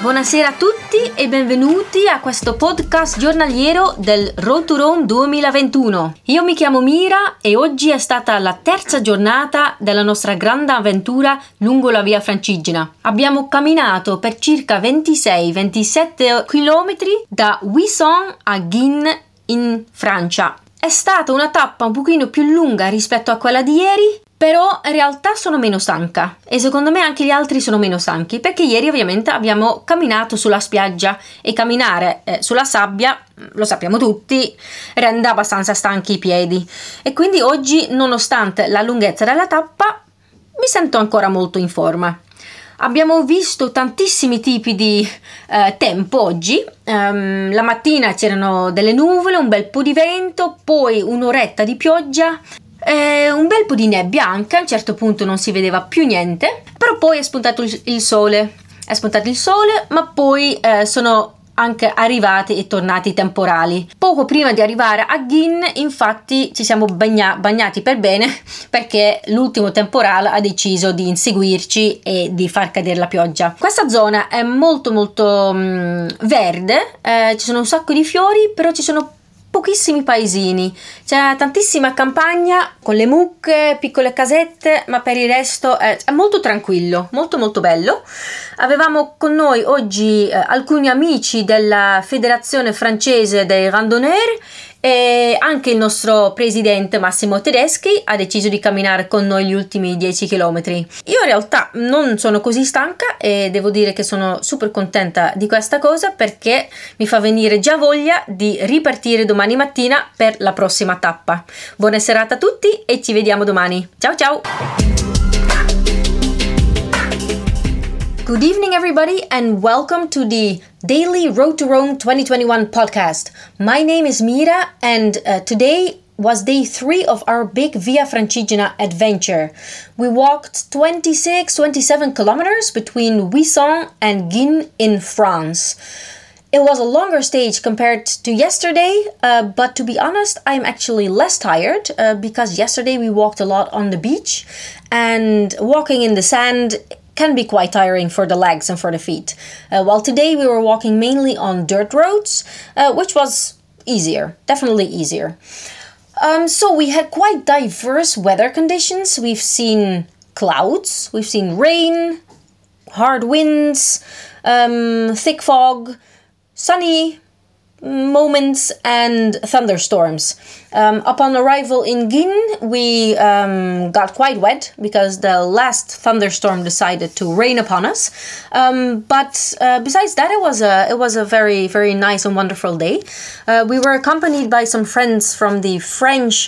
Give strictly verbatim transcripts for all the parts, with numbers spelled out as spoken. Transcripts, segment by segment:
Buonasera a tutti e benvenuti a questo podcast giornaliero del Road to Rome duemilaventuno. Io mi chiamo Mira e oggi è stata la terza giornata della nostra grande avventura lungo la via Francigena. Abbiamo camminato per circa ventisei ventisette chilometri da Wissant a Guînes in Francia. È stata una tappa un pochino più lunga rispetto a quella di ieri, però in realtà sono meno stanca e secondo me anche gli altri sono meno stanchi perché ieri ovviamente abbiamo camminato sulla spiaggia e camminare eh, sulla sabbia, lo sappiamo tutti, rende abbastanza stanchi i piedi e quindi oggi, nonostante la lunghezza della tappa, mi sento ancora molto in forma. Abbiamo visto tantissimi tipi di eh, tempo oggi. Um, la mattina c'erano delle nuvole, un bel po' di vento, poi un'oretta di pioggia, eh, un bel po' di nebbia anche, a un certo punto non si vedeva più niente, però poi è spuntato il, il sole, è spuntato il sole, ma poi eh, sono anche arrivati e tornati i temporali. Poco prima di arrivare a Guînes, infatti, ci siamo bagna- bagnati per bene perché l'ultimo temporale ha deciso di inseguirci e di far cadere la pioggia. Questa zona è molto molto mh, verde, eh, ci sono un sacco di fiori, però ci sono pochissimi paesini, c'è tantissima campagna con le mucche, piccole casette, ma per il resto è, è molto tranquillo, molto molto bello. Avevamo con noi oggi eh, alcuni amici della Federazione Francese dei Randonneurs e anche il nostro presidente Massimo Tedeschi ha deciso di camminare con noi gli ultimi dieci chilometri. Io in realtà non sono così stanca e devo dire che sono super contenta di questa cosa perché mi fa venire già voglia di ripartire domani mattina per la prossima tappa. Buona serata a tutti e ci vediamo domani. Ciao ciao! Good evening, everybody, and welcome to the Daily Road to Rome twenty twenty-one podcast. My name is Mira, and uh, today was day three of our big Via Francigena adventure. We walked twenty-six, twenty-seven kilometers between Wissant and Guînes in France. It was a longer stage compared to yesterday, uh, but to be honest, I'm actually less tired uh, because yesterday we walked a lot on the beach, and walking in the sand can be quite tiring for the legs and for the feet. Uh, while today we were walking mainly on dirt roads, uh, which was easier, definitely easier. Um, so we had quite diverse weather conditions. We've seen clouds, we've seen rain, hard winds, um, thick fog, sunny moments and thunderstorms. Um, upon arrival in Guînes, we um, got quite wet because the last thunderstorm decided to rain upon us. Um, but uh, besides that, it was a it was a very very nice and wonderful day. Uh, we were accompanied by some friends from the French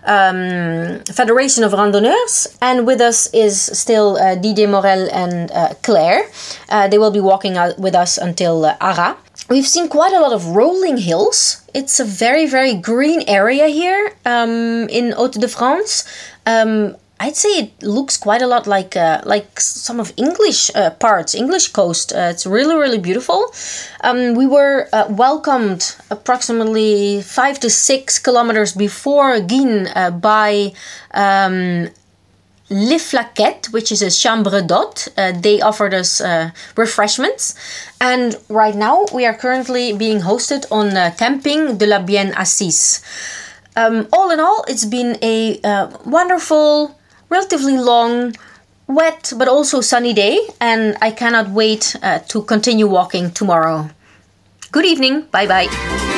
um, Federation of Randonneurs, and with us is still uh, Didier Morel and uh, Claire. Uh, they will be walking out with us until uh, Arras. We've seen quite a lot of rolling hills. It's a very, very green area here um, in Hauts-de-France. Um, I'd say it looks quite a lot like uh, like some of English uh, parts, English coast. Uh, it's really, really beautiful. Um, we were uh, welcomed approximately five to six kilometers before Guînes uh, by um, Les Flaquettes, which is a chambre d'hôte. Uh, they offered us uh, refreshments. And right now we are currently being hosted on uh, Camping de la Bien Assise. Um, all in all, it's been a uh, wonderful, relatively long, wet, but also sunny day. And I cannot wait uh, to continue walking tomorrow. Good evening. Bye-bye.